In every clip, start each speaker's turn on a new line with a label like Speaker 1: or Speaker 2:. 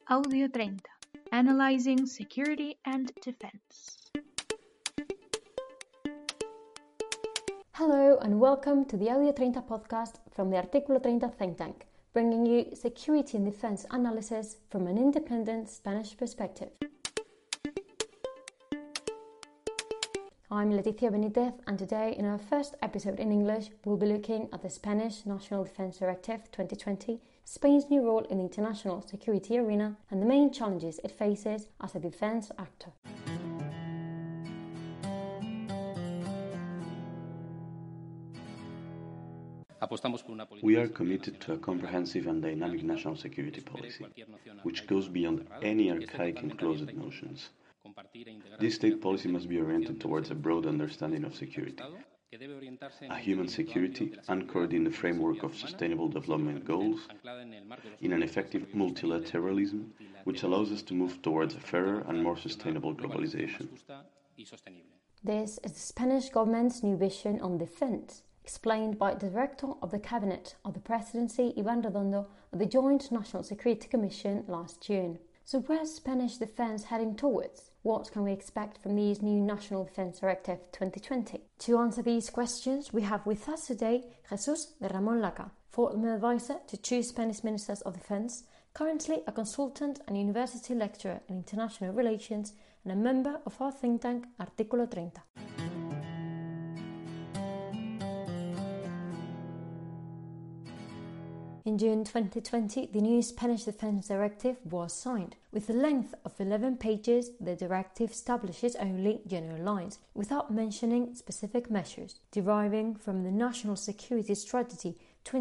Speaker 1: Audio 30, Analyzing Security and Defense.
Speaker 2: Hello and welcome to the Audio 30 podcast from the Artículo 30 think tank, bringing you security and defense analysis from an independent Spanish perspective. I'm Leticia Benitez, and today in our first episode in English we'll be looking at the Spanish National Defense Directive 2020, Spain's new role in the international security arena and the main challenges it faces as a defense actor.
Speaker 3: We are committed to a comprehensive and dynamic national security policy, which goes beyond any archaic and closed notions. This state policy must be oriented towards a broad understanding of security, a human security anchored in the framework of sustainable development goals, in an effective multilateralism which allows us to move towards a fairer and more sustainable globalization.
Speaker 2: This is the Spanish government's new vision on defense, explained by the Director of the Cabinet of the Presidency, Iván Redondo, at the Joint National Security Commission last June. So where's Spanish defense heading towards? What can we expect from these new National Defense Directive 2020? To answer these questions, we have with us today Jesús de Ramón Laca, former advisor to two Spanish Ministers of Defense, currently a consultant and university lecturer in international relations and a member of our think tank Artículo 30. In June 2020, the new Spanish Defense Directive was signed. With a length of 11 pages, the directive establishes only general lines, without mentioning specific measures, deriving from the National Security Strategy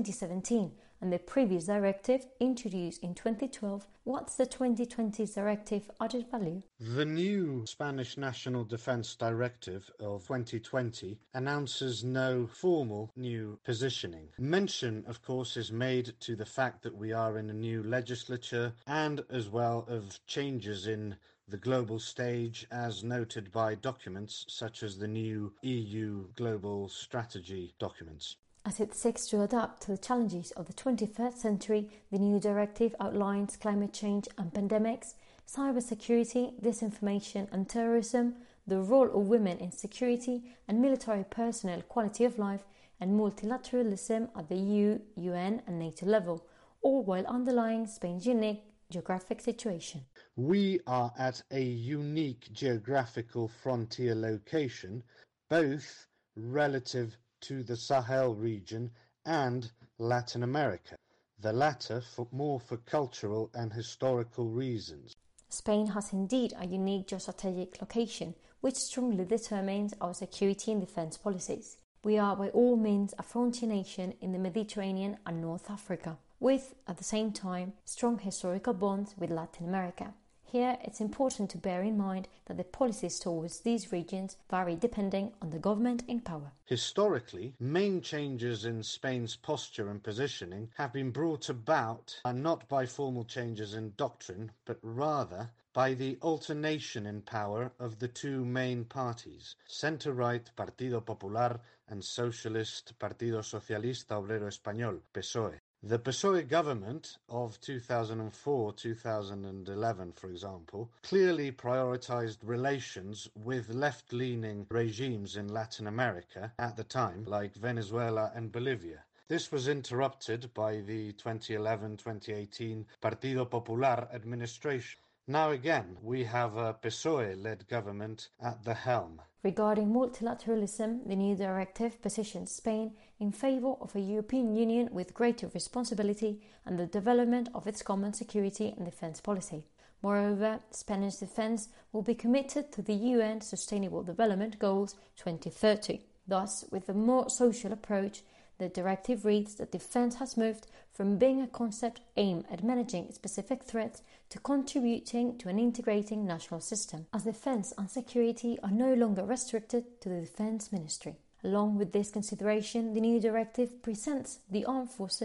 Speaker 2: 2017 and the previous directive introduced in 2012. What's the 2020 directive added value?
Speaker 4: The new Spanish National Defense Directive of 2020 announces no formal new positioning. Mention, of course, is made to the fact that we are in a new legislature and as well of changes in the global stage as noted by documents such as the new EU Global Strategy documents.
Speaker 2: As it seeks to adapt to the challenges of the 21st century, the new directive outlines climate change and pandemics, cybersecurity, disinformation and terrorism, the role of women in security and military personnel quality of life, and multilateralism at the EU, UN and NATO level, all while underlying Spain's unique geographic situation.
Speaker 4: We are at a unique geographical frontier location, both relative to the Sahel region and Latin America, the latter more for cultural and historical reasons.
Speaker 2: Spain has indeed a unique geostrategic location, which strongly determines our security and defence policies. We are by all means a frontier nation in the Mediterranean and North Africa, with, at the same time, strong historical bonds with Latin America. Here, it's important to bear in mind that the policies towards these regions vary depending on the government in power.
Speaker 4: Historically, main changes in Spain's posture and positioning have been brought about not by formal changes in doctrine, but rather by the alternation in power of the two main parties, centre-right Partido Popular and socialist Partido Socialista Obrero Español, PSOE. The PSOE government of 2004-2011, for example, clearly prioritized relations with left-leaning regimes in Latin America at the time, like Venezuela and Bolivia. This was interrupted by the 2011-2018 Partido Popular administration. Now again, we have a PSOE-led government at the helm.
Speaker 2: Regarding multilateralism, the new directive positions Spain in favour of a European Union with greater responsibility and the development of its common security and defence policy. Moreover, Spanish defence will be committed to the UN Sustainable Development Goals 2030. Thus, with a more social approach, the directive reads that defence has moved from being a concept aimed at managing specific threats to contributing to an integrating national system, as defence and security are no longer restricted to the Defence Ministry. Along with this consideration, the new directive presents the armed forces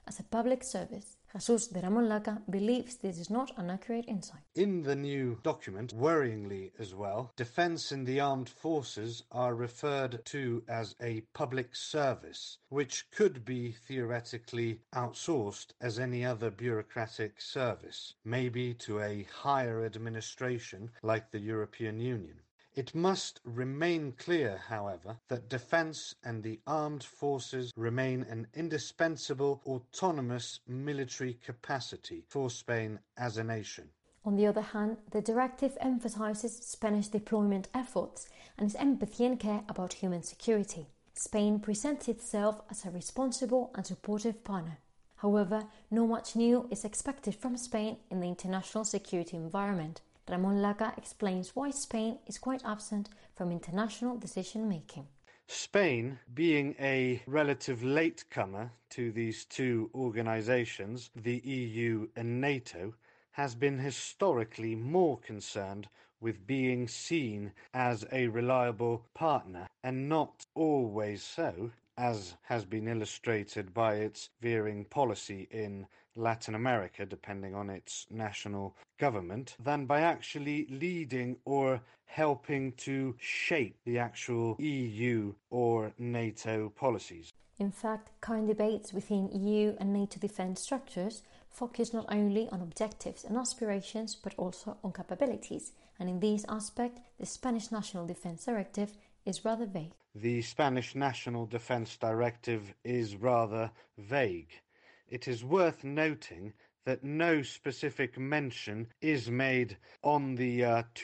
Speaker 2: as a public service. Jesús de Ramón Laca believes this is not an accurate insight.
Speaker 4: In the new document, worryingly as well, defence in the armed forces are referred to as a public service, which could be theoretically outsourced as any other bureaucratic service, maybe to a higher administration like the European Union. It must remain clear, however, that defence and the armed forces remain an indispensable autonomous military capacity for Spain as a nation.
Speaker 2: On the other hand, the directive emphasises Spanish deployment efforts and its empathy and care about human security. Spain presents itself as a responsible and supportive partner. However, not much new is expected from Spain in the international security environment. Ramón Laca explains why Spain is quite absent from international decision-making.
Speaker 4: Spain, being a relative latecomer to these two organisations, the EU and NATO, has been historically more concerned with being seen as a reliable partner, and not always so, as has been illustrated by its veering policy in Latin America, depending on its national government, than by actually leading or helping to shape the actual EU or NATO policies.
Speaker 2: In fact, current debates within EU and NATO defence structures focus not only on objectives and aspirations, but also on capabilities, and in this aspect, the Spanish National Defence Directive is rather vague.
Speaker 4: The Spanish National Defence Directive is rather vague. It is worth noting that no specific mention is made on the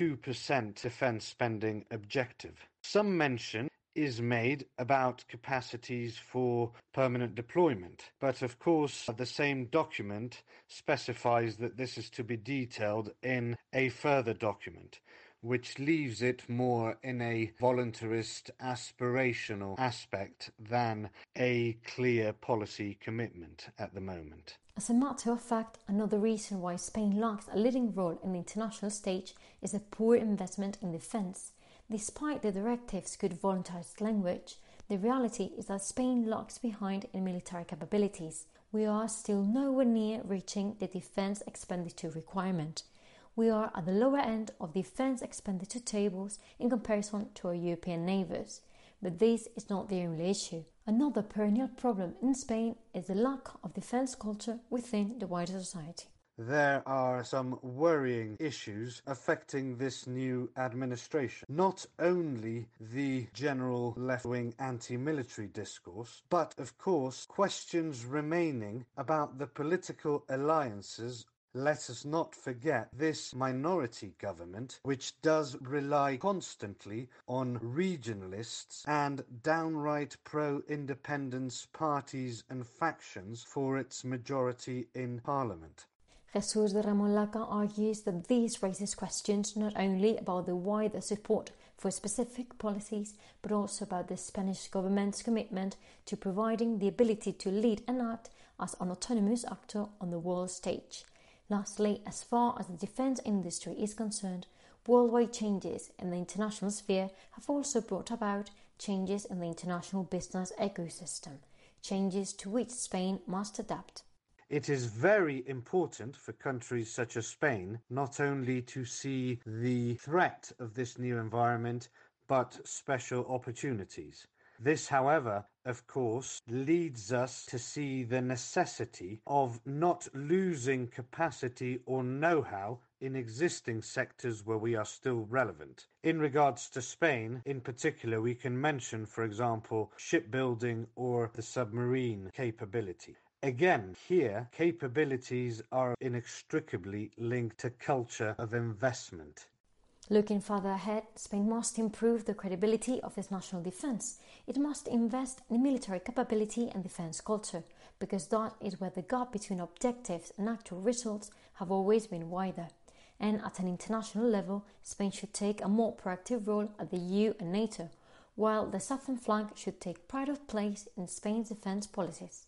Speaker 4: 2% defence spending objective. Some mention is made about capacities for permanent deployment, but of course the same document specifies that this is to be detailed in a further document, which leaves it more in a voluntarist, aspirational aspect than a clear policy commitment at the moment.
Speaker 2: As a matter of fact, another reason why Spain lacks a leading role in the international stage is a poor investment in defence. Despite the directive's good voluntarist language, the reality is that Spain lags behind in military capabilities. We are still nowhere near reaching the defence expenditure requirement. We are at the lower end of defence expenditure tables in comparison to our European neighbours. But this is not the only issue. Another perennial problem in Spain is the lack of defence culture within the wider society.
Speaker 4: There are some worrying issues affecting this new administration. Not only the general left-wing anti-military discourse, but of course questions remaining about the political alliances. Let us not forget this minority government, which does rely constantly on regionalists and downright pro-independence parties and factions for its majority in parliament.
Speaker 2: Jesús de Ramón Laca argues that this raises questions not only about the wider support for specific policies, but also about the Spanish government's commitment to providing the ability to lead and act as an autonomous actor on the world stage. Lastly, as far as the defence industry is concerned, worldwide changes in the international sphere have also brought about changes in the international business ecosystem, changes to which Spain must adapt.
Speaker 4: It is very important for countries such as Spain not only to see the threat of this new environment, but special opportunities. This, however, of course, leads us to see the necessity of not losing capacity or know-how in existing sectors where we are still relevant. In regards to Spain, in particular, we can mention, for example, shipbuilding or the submarine capability. Again, here, capabilities are inextricably linked to culture of investment.
Speaker 2: Looking further ahead, Spain must improve the credibility of its national defence. It must invest in military capability and defence culture, because that is where the gap between objectives and actual results have always been wider. And at an international level, Spain should take a more proactive role at the EU and NATO, while the southern flank should take pride of place in Spain's defence policies.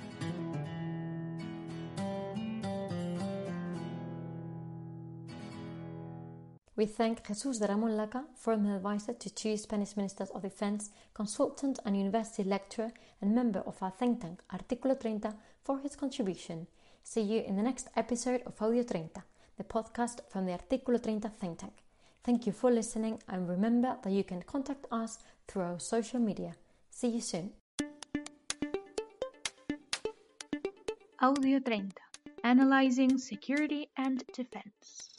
Speaker 2: We thank Jesús de Ramón Laca, former advisor to two Spanish Ministers of Defence, consultant and university lecturer, and member of our think tank Artículo 30, for his contribution. See you in the next episode of Audio 30, the podcast from the Artículo 30 think tank. Thank you for listening, and remember that you can contact us through our social media. See you soon.
Speaker 1: Audio 30, analyzing security and defense.